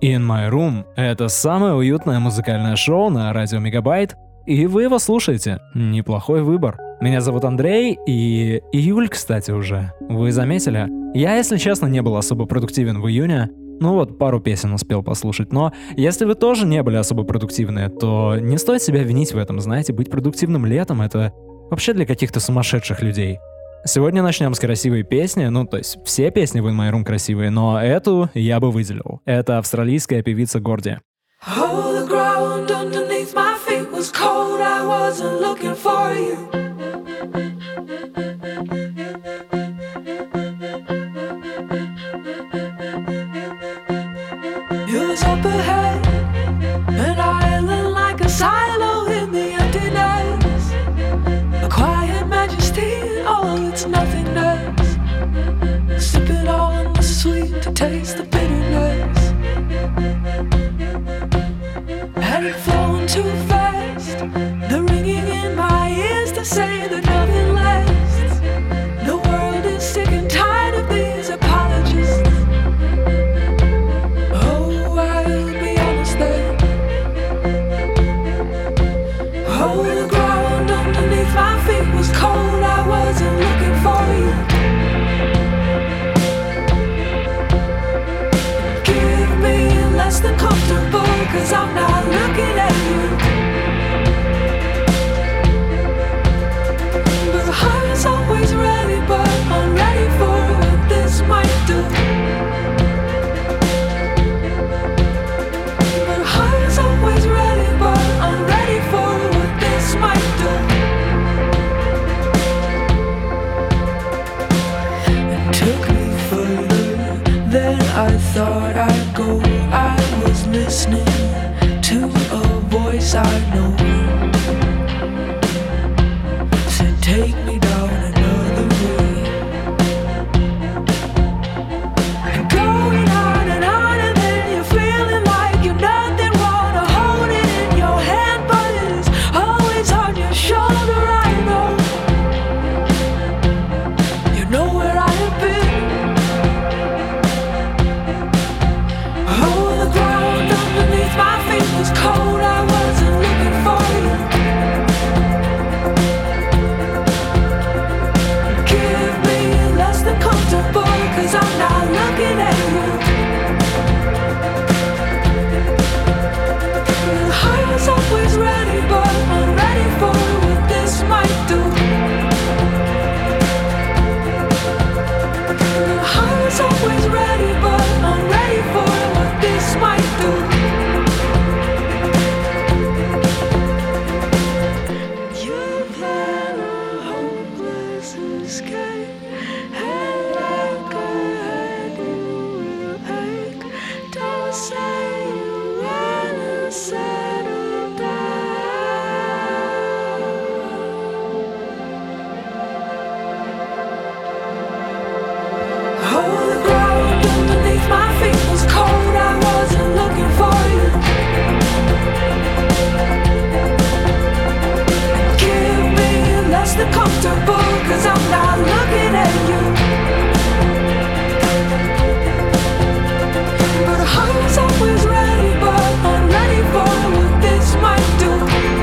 In My Room — это самое уютное музыкальное шоу на радио Мегабайт, и вы его слушаете. Неплохой выбор. Меня зовут Андрей, и июль, кстати, уже. Вы заметили? Я, если честно, не был особо продуктивен в июне. Ну вот, пару песен успел послушать, но если вы тоже не были особо продуктивны, то не стоит себя винить в этом, знаете, быть продуктивным летом — это вообще для каких-то сумасшедших людей. Сегодня начнем с красивой песни, ну то есть все песни в In My Room красивые, но эту я бы выделил. Это австралийская певица Горди. Up ahead, an island like a silo in the emptiness, a quiet majesty in all its nothingness, sipping on the sweet to taste the bitterness, had it flown too fast, the ringing in my ears to say that nothing lasts, the world is sick and tired of these apologists. Cause I'm not looking at you, but the heart's always ready, but I'm ready for what this might do. But the heart's always ready, but I'm ready for what this might do. It took me further than I thought I'd go. I was listening to a voice I know, said take me down another way, and going on, and then you're feeling like you're nothing, wanna hold it in your hand, but it is always on your shoulder. I know, you know where I have been. Oh, the ground underneath my feet was cold, I wasn't looking for you. Give me less than comfortable, cause I'm not looking at you. The heart's always ready, but I'm ready for what this might do. The heart's always ready, but I'm ready for what this might do. Comfortable, cause I'm not looking at you, but the heart's always ready, but I'm ready for what this might do.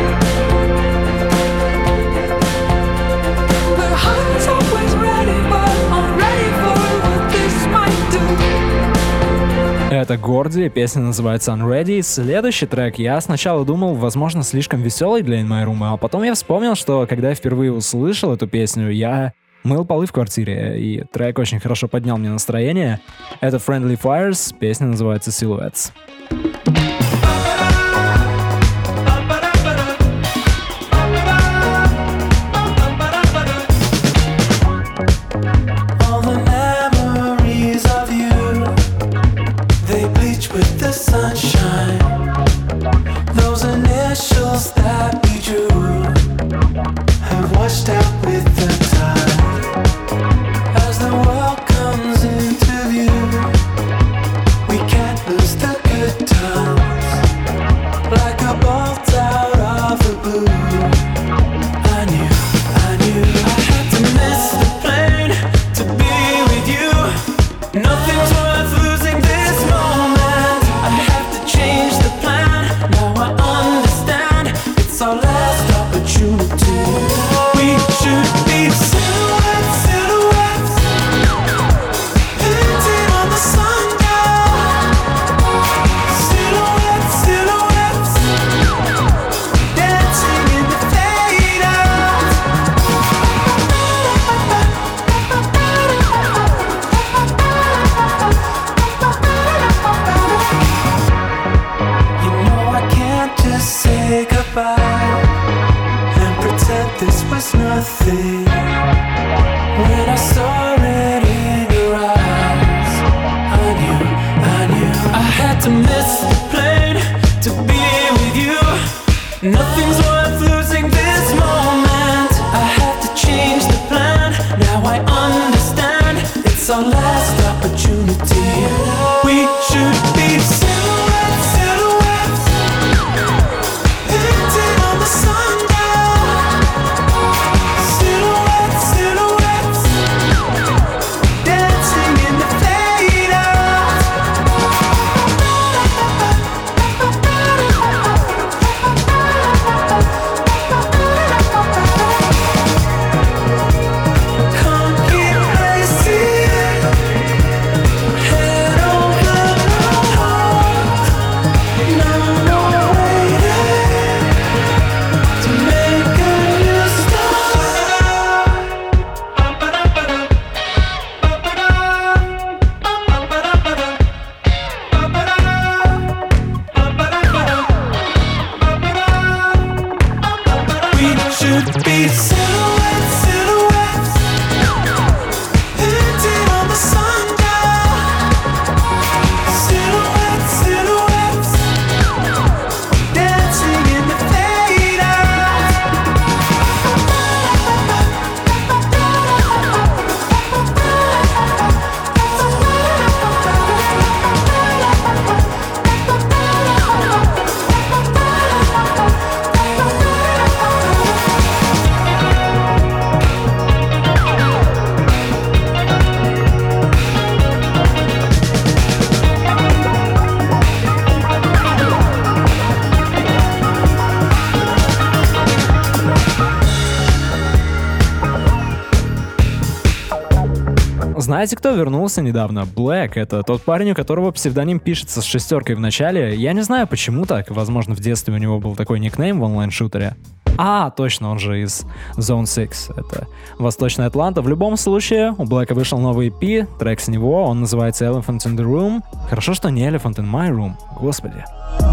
But the heart's always ready, but I'm ready for what this might do. Это Горди, песня называется Unready. Следующий трек я сначала думал, возможно, слишком веселый для In My Room, а потом я вспомнил, что когда я впервые услышал эту песню, я мыл полы в квартире, и трек очень хорошо поднял мне настроение. Это Friendly Fires, песня называется Silhouettes. With the sunshine, those initials that we drew have washed out with the tide. As the world comes into view, we can't lose the good to miss the plane, to be with you. Nothing's worth losing this moment. I have to change the plan. Now I understand. It's our last opportunity. We should be silhouettes, silhouettes, painted on the sundown. Silhouettes, silhouettes, dancing in the fade out. Can't keep racing, head over heart. No more waiting to make a new start. We should be silhouettes, silhouettes, painted on the sundown. Silhouettes, silhouettes, dancing in the fade out. Знаете, кто вернулся недавно? Black. Это тот парень, у которого псевдоним пишется с шестеркой в начале. Я не знаю, почему так. Возможно, в детстве у него был такой никнейм в онлайн-шутере. Точно, он же из Zone 6. Это Восточная Атланта. В любом случае, у Блэка вышел новый EP, трек с него, он называется Elephant in the Room. Хорошо, что не Elephant in my room. Господи.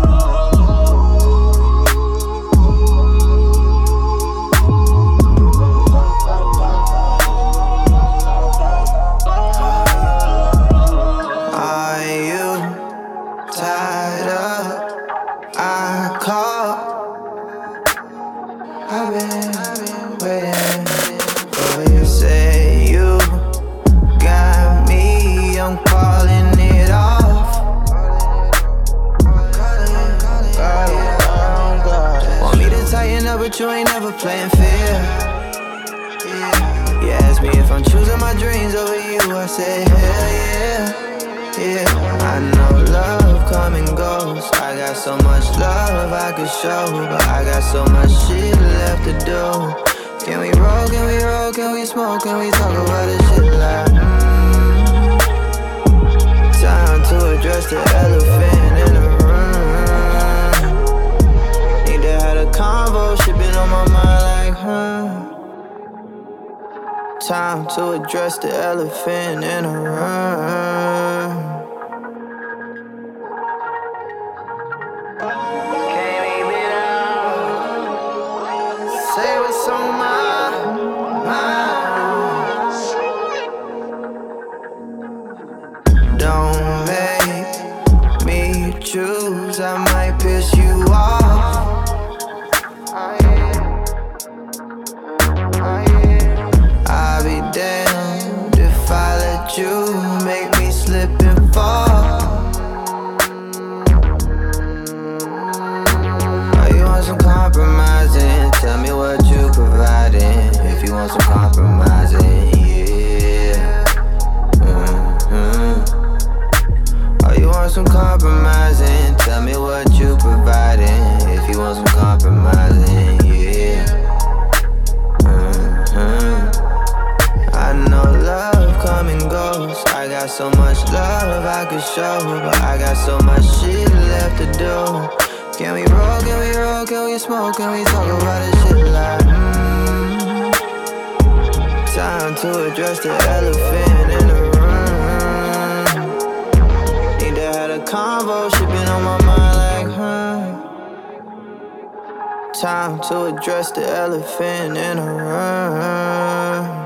Are you tied up? I call. I've been waiting for you. Say you got me. I'm calling it off. Want me to tighten up, but you ain't never playing fair. You ask me if I'm choosing my dreams over you. I say hell yeah. Yeah, I know love come and goes. I got so much love I could show, but I got so much shit left to do. Can we roll, can we roll, can we smoke, can we talk about this shit like Time to address the elephant in the room. Need to have a convo, shit been on my mind like Time to address the elephant in the room. Can't leave it out. Say what's on my mind. Don't make me choose, I might piss you off. I'll be damned if I let you make me slip and fall. Oh, you want some compromising? Tell me what you providing. If you want some compromising, yeah. Oh, you want some compromising? Tell me what you providing. If you want some compromising, yeah. I know love come and goes. I got so much love I could show, but I got so much shit left to do. Can we roll, can we roll, can we smoke, can we talk about this shit like Time to address the elephant in the room. Need to have a convo, shit been on my mind like Time to address the elephant in the room.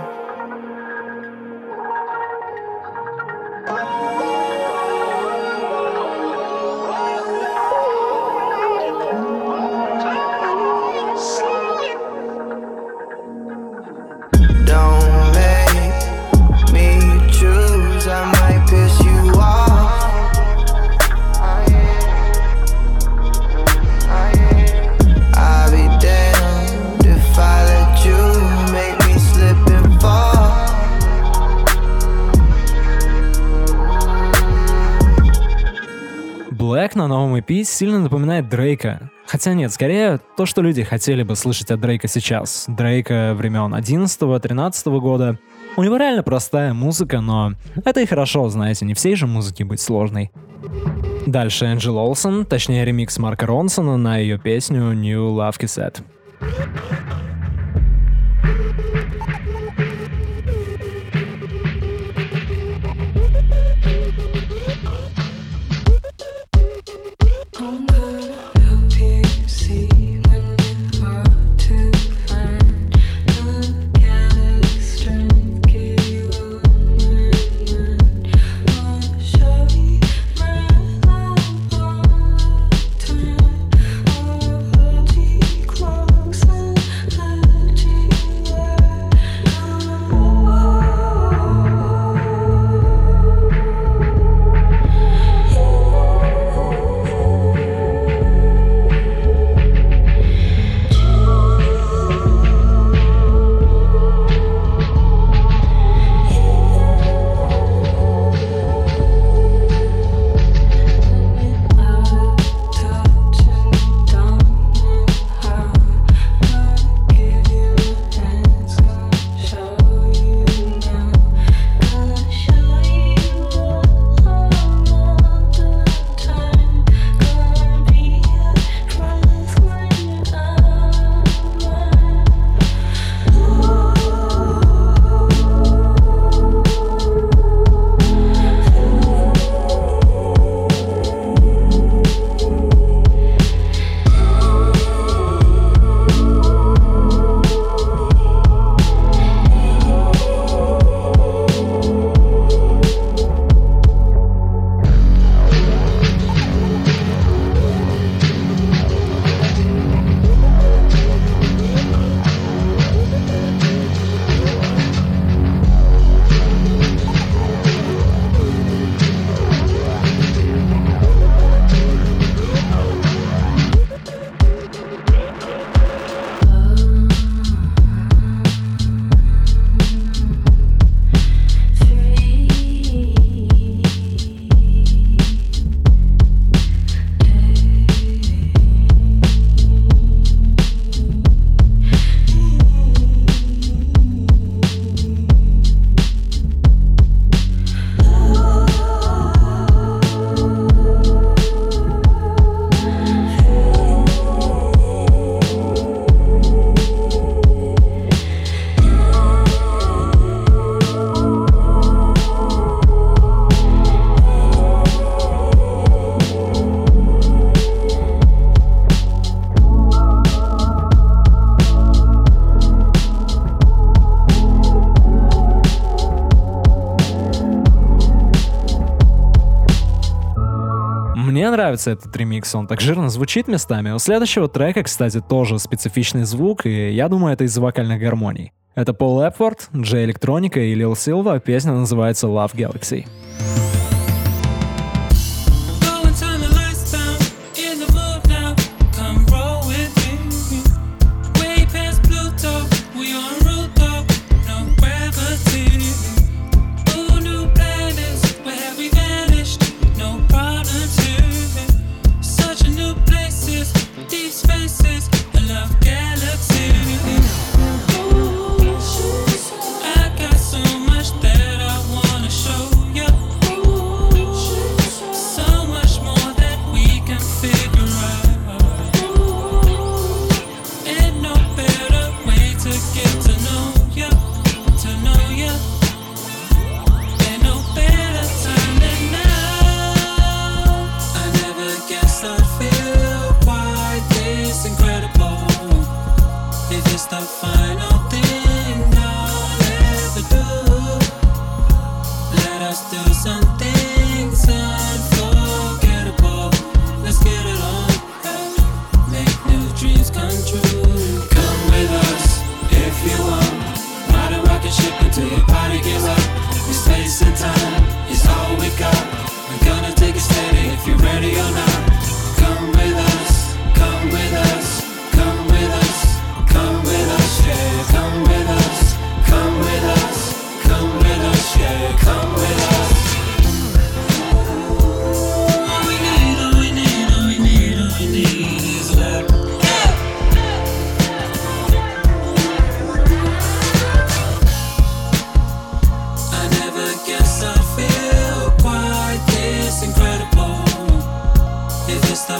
трек на новом EP сильно напоминает Дрейка. Хотя нет, скорее то, что люди хотели бы слышать от Дрейка сейчас. Дрейка времен 11-13 года. У него реально простая музыка, но это и хорошо, знаете, не всей же музыке быть сложной. Дальше Энджел Олсон, точнее ремикс Марка Ронсона на ее песню New Love Cassette. Мне нравится этот ремикс, он так жирно звучит местами. У следующего трека, кстати, тоже специфичный звук, и я думаю, это из-за вокальных гармоний. Это Пол Эпфорд, Джей Электроника и Лил Силва, песня называется Love Galaxy. I got so much that I wanna show you.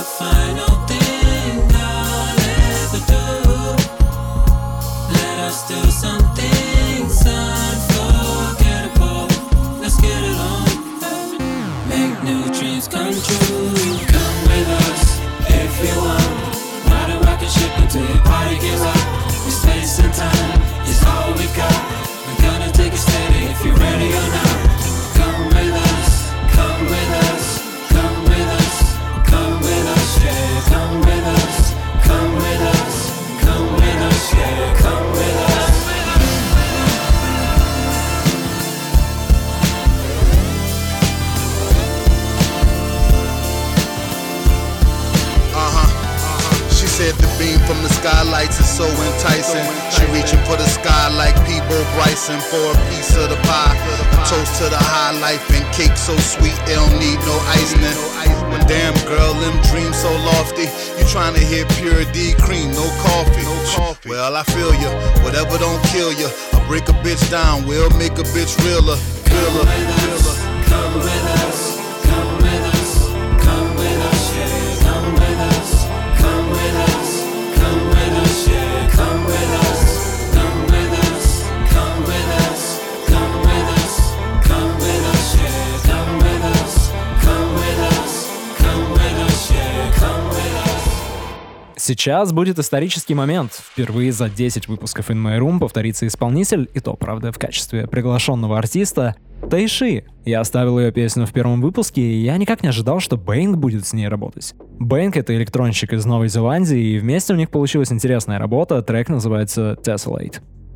Skylights is so enticing. She reaching for the sky like Peebo Bryson for a piece of the pie. A toast to the high life and cake so sweet it don't need no icing. Damn girl, them dreams so lofty. You trying to hit pure D cream, no coffee. Well, I feel ya. Whatever don't kill ya. I'll break a bitch down, we'll make a bitch realer. Come with us, come with us, come with us, come with us, yeah. Come with us, come with us. Come with us, yeah. Come with us, come with us, come with us, come with us, come with us, yeah. Come with us, come with us, come with us, yeah. Come with us. Сейчас будет исторический момент. Впервые за 10 выпусков In My Room повторится исполнитель, и то, правда, в качестве приглашенного артиста, Тайши. Я оставил ее песню в первом выпуске, и я никак не ожидал, что Бэнг будет с ней работать. Бэнг — это электронщик из Новой Зеландии, и вместе у них получилась интересная работа, трек называется Tessellate.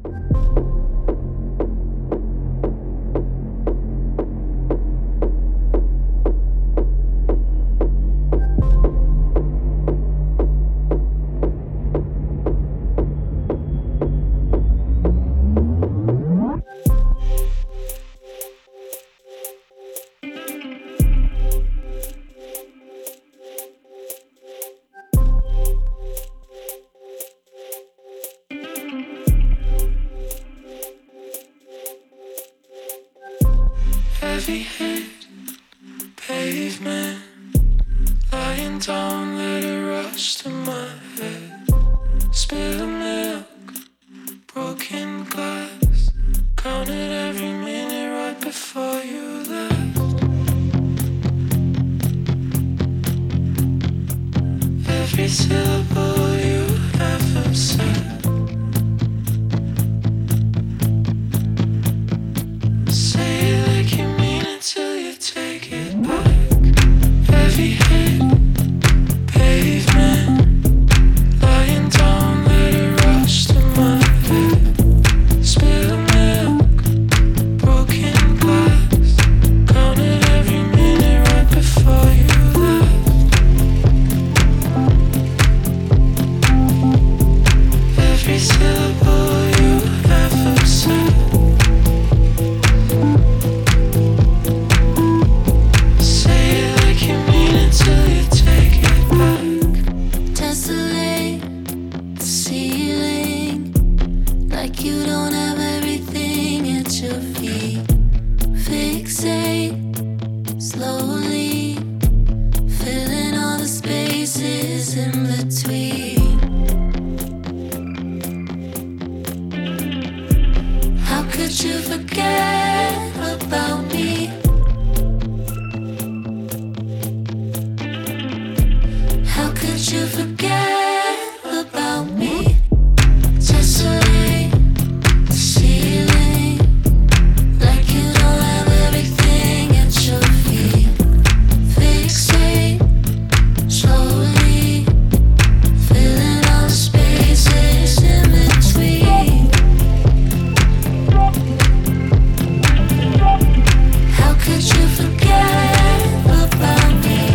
Heavy hit, pavement, lying down, let it rush to my head. Spill of milk, broken glass, counted every minute right before you left. Every syllable you ever said. Till you take it back. Heavy hit, pavement, lying down, let it rush to my head. Spill of milk, broken glass, counted every minute right before you left. Every syllable you ever said. Till you take it back. Tessellate the ceiling, like you don't have everything at your feet. Fixate slowly, filling all the spaces in between. How could you forget about me? Could you forget about me? Tessellate the ceiling, like you don't have everything at your feet. Fixate slowly, filling all the spaces in between. How could you forget about me?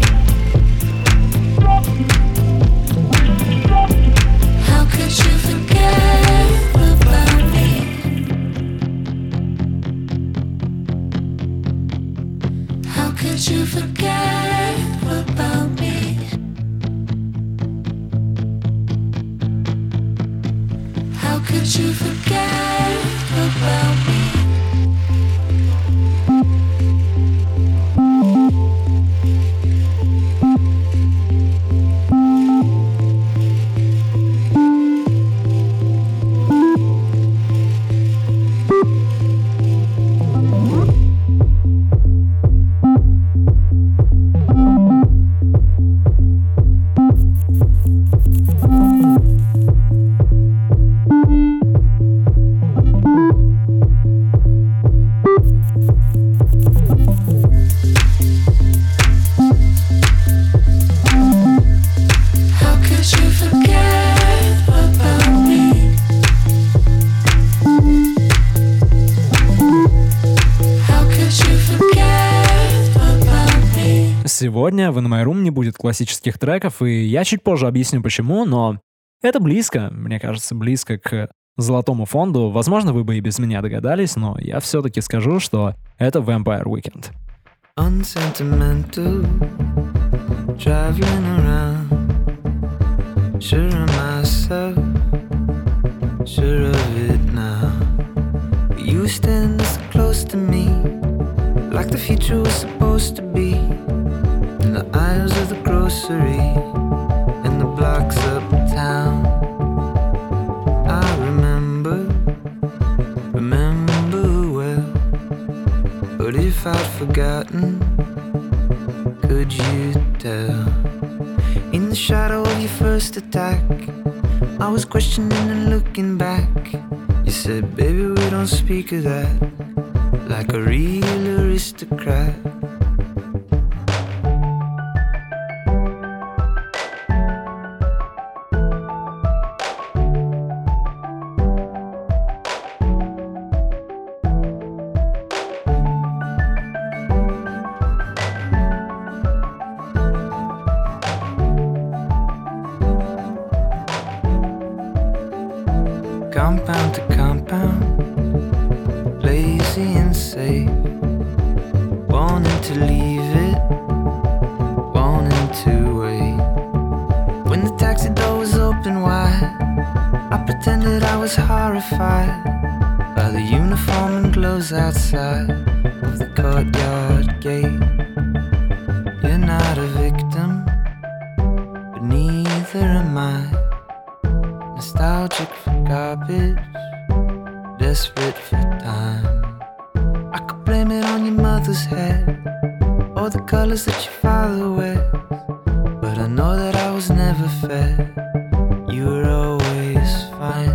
How could you forget about me? How could you forget about me? How could you forget about me? сегодня в In My Room не будет классических треков, и я чуть позже объясню почему, но это близко, мне кажется, близко к золотому фонду. Возможно, вы бы и без меня догадались, но я все-таки скажу, что это Vampire Weekend. Unsentimental, traveling around, sure of myself, sure of it now. You stand so close to me, like the future was supposed to be. In the aisles of the grocery, and the blocks uptown. I remember well. But if I'd forgotten, could you tell? In the shadow of your first attack, I was questioning and looking back. You said, baby, we don't speak of that, like a real aristocrat. Compound to compound, lazy and safe, wanting to leave it, wanting to wait. When the taxi door was open wide, I pretended I was horrified by the uniform and gloves outside of the courtyard gate. You're not a victim, but neither am I. Nostalgic for garbage, desperate for time. I could blame it on your mother's head, or the colors that your father wears. But I know that I was never fed. You were always fine.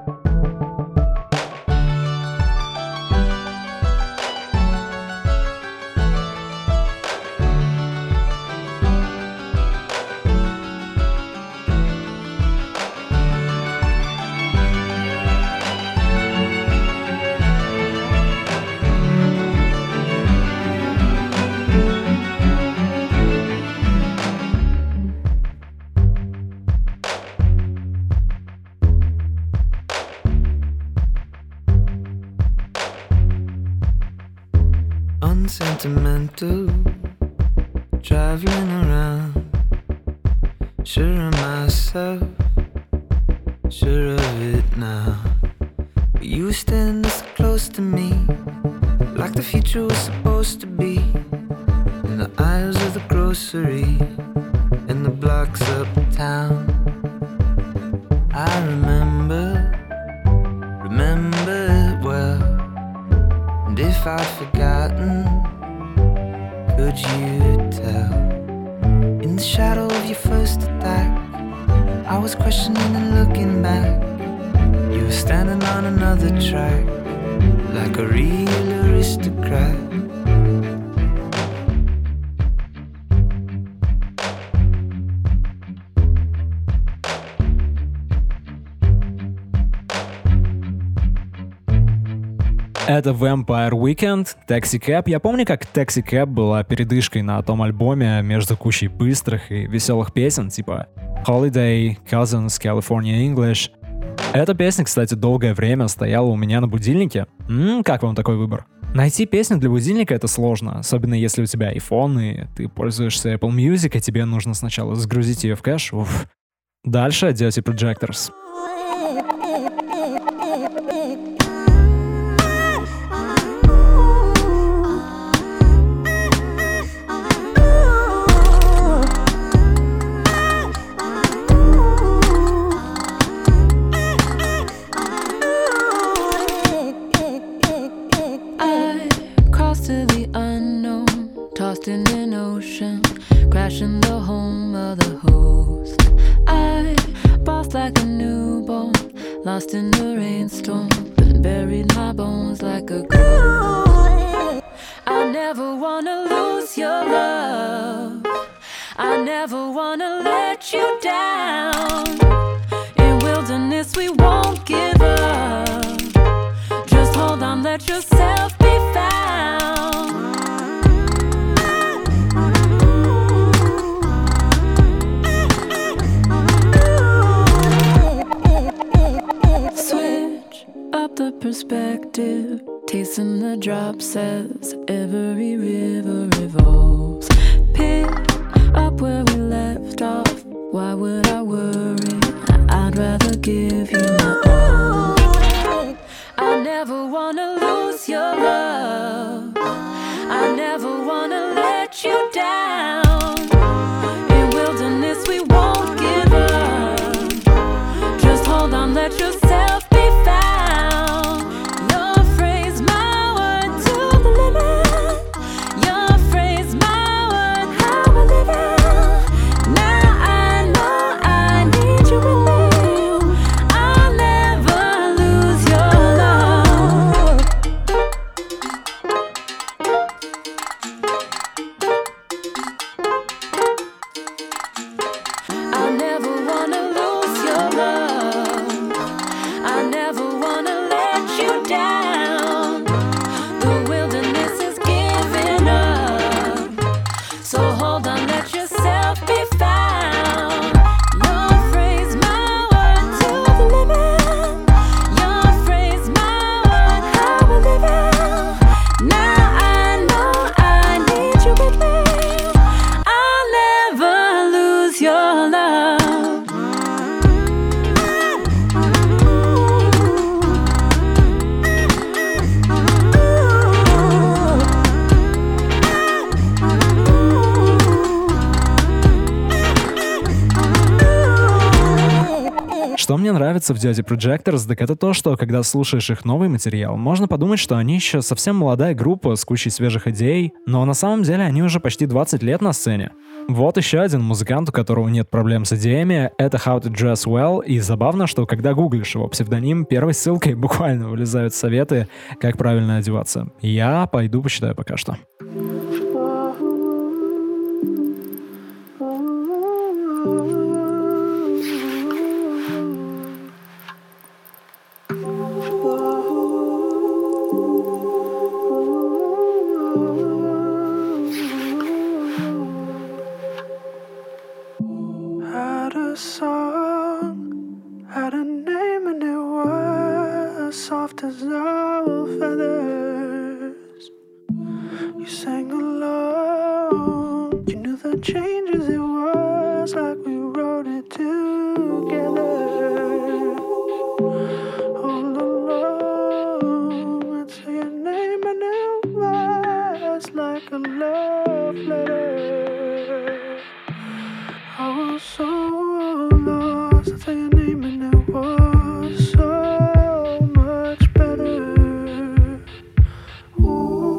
Unsentimental, traveling around, sure of myself, sure of it now. But you were standing so close to me, like the future was supposed to be. In the aisles of the grocery, in the blocks uptown. I remember it well. And if I'd forgotten, could you tell? In the shadow of your first attack, I was questioning and looking back. You were standing on another track, like a real aristocrat. Это Vampire Weekend, Taxi Cab. Я помню, как Taxi Cab была передышкой на том альбоме между кучей быстрых и веселых песен, типа Holiday, Cousins, California English. Эта песня, кстати, долгое время стояла у меня на будильнике. Как вам такой выбор? Найти песню для будильника — это сложно, особенно если у тебя iPhone и ты пользуешься Apple Music, и тебе нужно сначала загрузить ее в кэш. Уф. Дальше Dirty Projectors. In an ocean, crashing the home of the host. I bossed like a newborn, lost in the rainstorm, and buried my bones like a ghost. I never wanna lose your love, I never wanna let you down. In wilderness we won't give up, just hold on, let yourself be found. Casing the drop says every river revolves. Pick up where we left off. Why would I worry? I'd rather give you my all. I never wanna lose your love. I never wanna let you down. In wilderness we won't give up. Just hold on, let yourself be found. Your phrase, my word to the limit. Your phrase, my word, how I live it. Now I know I need you with me. I'll never lose your love. I never wanna lose your love. I never wanna let you down. The wilderness is giving up. So hold on, let yourself be found. Your phrase, my word to the limit. Your phrase, my word, how I live it. Now I know I need you with me. I'll never lose your love. Что мне нравится в Dirty Projectors, так это то, что когда слушаешь их новый материал, можно подумать, что они еще совсем молодая группа с кучей свежих идей, но на самом деле они уже почти 20 лет на сцене. Вот еще один музыкант, у которого нет проблем с идеями, это How to Dress Well, и забавно, что когда гуглишь его псевдоним, первой ссылкой буквально вылезают советы, как правильно одеваться. Я пойду почитаю пока что. Had a song, had a name, and it was soft as owl feathers. You sang along, you knew the changes. It was like we wrote it together. All along, I'd say your name, and it was like a love letter. I was so lost, I'd say your name and it was so much better. Ooh.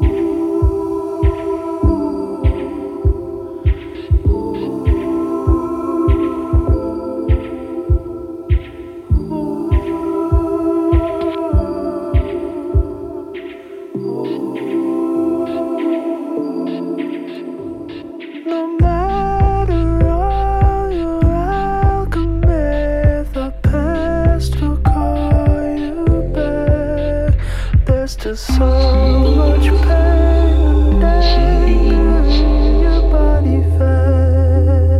No matter all your alchemy, the past will call you back. There's still so much pain and anger in your body fat.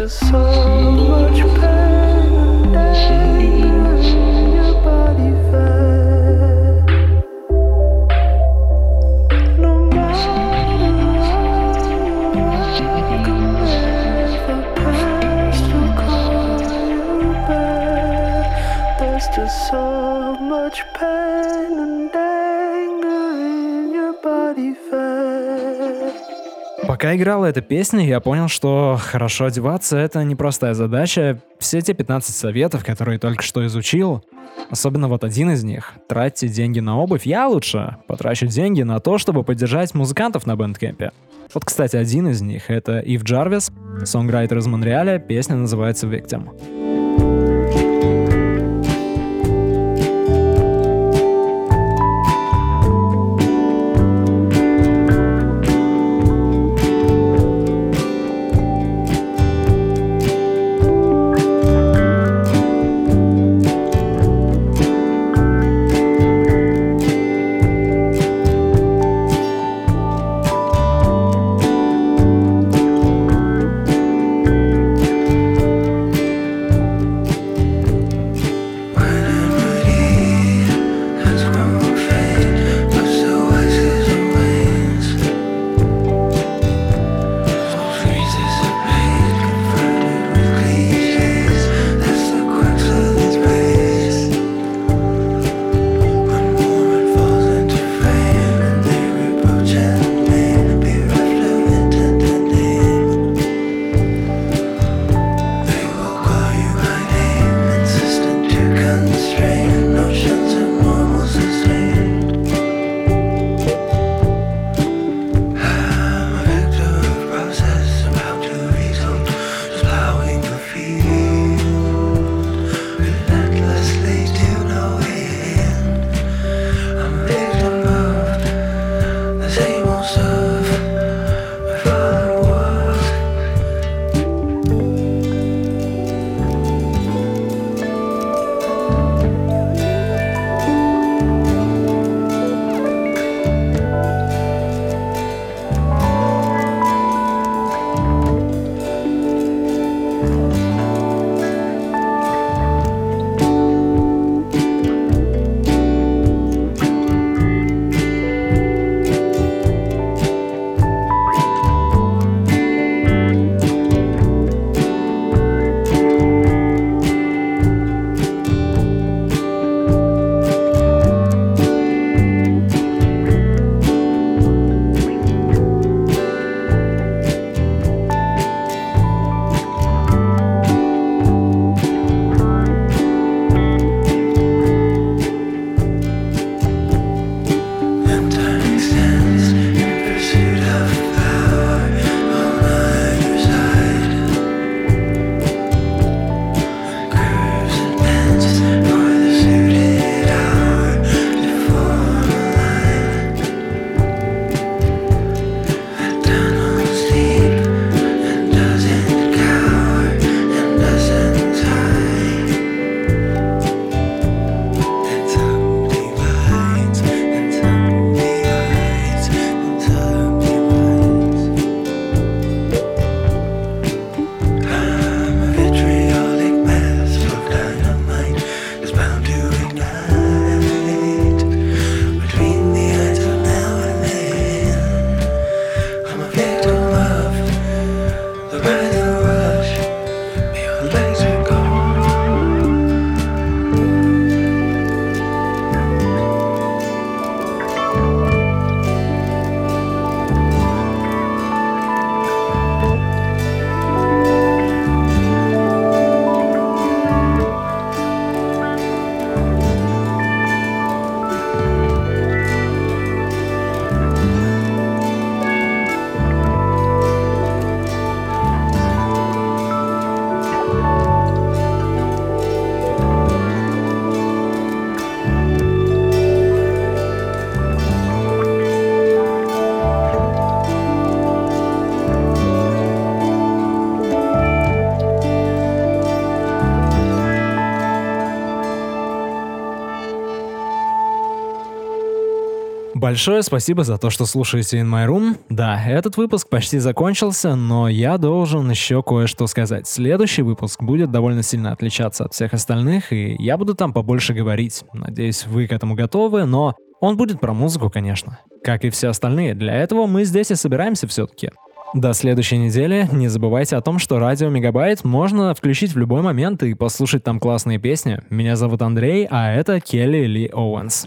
just so much pain in your body felt. No matter what, I can never pass to call you back. There's just so much pain and anger in your body felt. Пока играла эта песня, я понял, что хорошо одеваться — это непростая задача. Все те 15 советов, которые только что изучил, особенно вот один из них — тратьте деньги на обувь, я лучше потрачу деньги на то, чтобы поддержать музыкантов на Bandcamp'е. Вот, кстати, один из них — это Ив Джарвис, сонграйтер из Монреаля, песня называется «Victim». Большое спасибо за то, что слушаете In My Room. Да, этот выпуск почти закончился, но я должен еще кое-что сказать. Следующий выпуск будет довольно сильно отличаться от всех остальных, и я буду там побольше говорить. Надеюсь, вы к этому готовы, но он будет про музыку, конечно. Как и все остальные, для этого мы здесь и собираемся все-таки. До следующей недели. Не забывайте о том, что радио Мегабайт можно включить в любой момент и послушать там классные песни. Меня зовут Андрей, а это Келли Ли Оуэнс.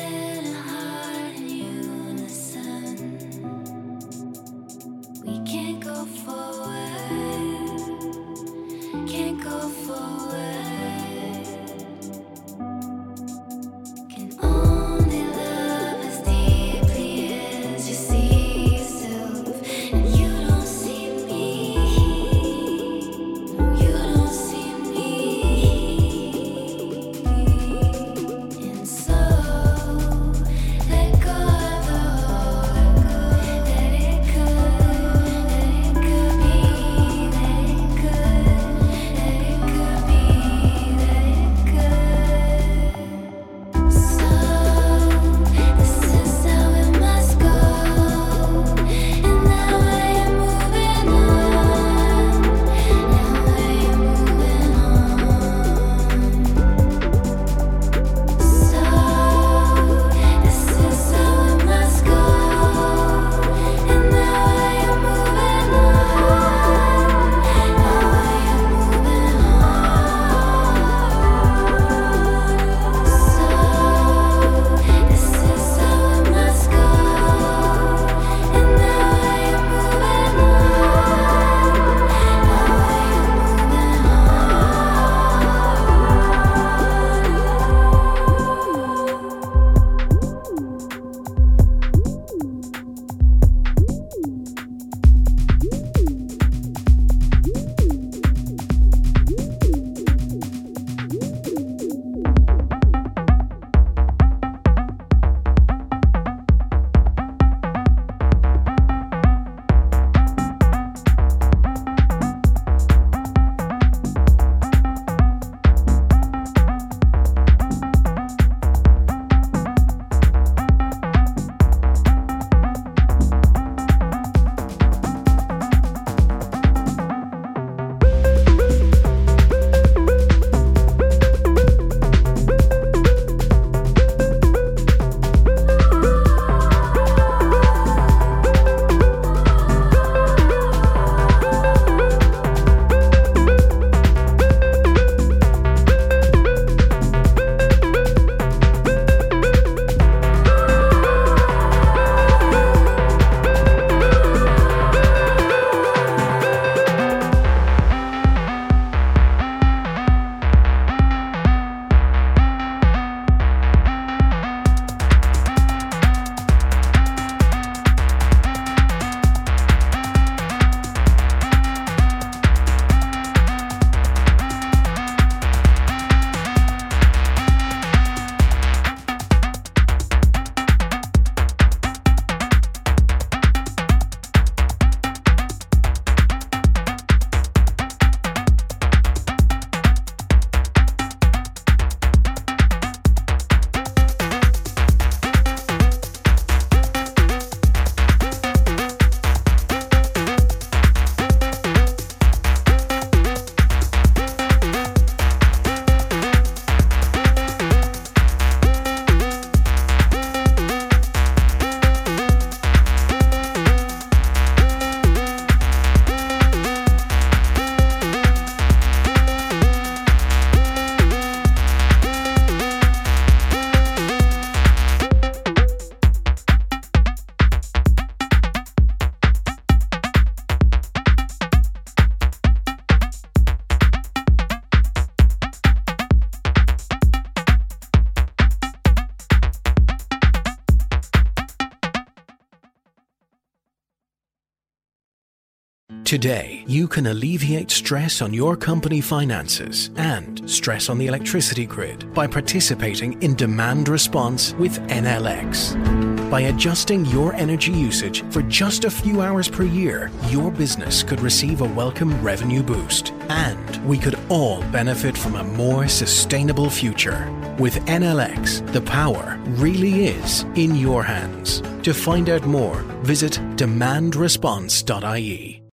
Today, you can alleviate stress on your company finances and stress on the electricity grid by participating in demand response with NLX. By adjusting your energy usage for just a few hours per year, your business could receive a welcome revenue boost. And we could all benefit from a more sustainable future. With NLX, the power really is in your hands. To find out more, visit demandresponse.ie.